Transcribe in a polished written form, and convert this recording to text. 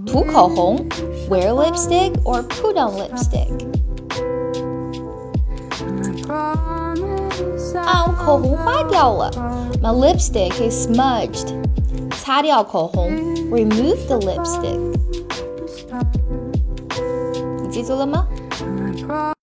涂口红 wear lipstick or put on lipstick 我口红坏掉了 My lipstick is smudged 擦掉口红 remove the lipstick 你记住了吗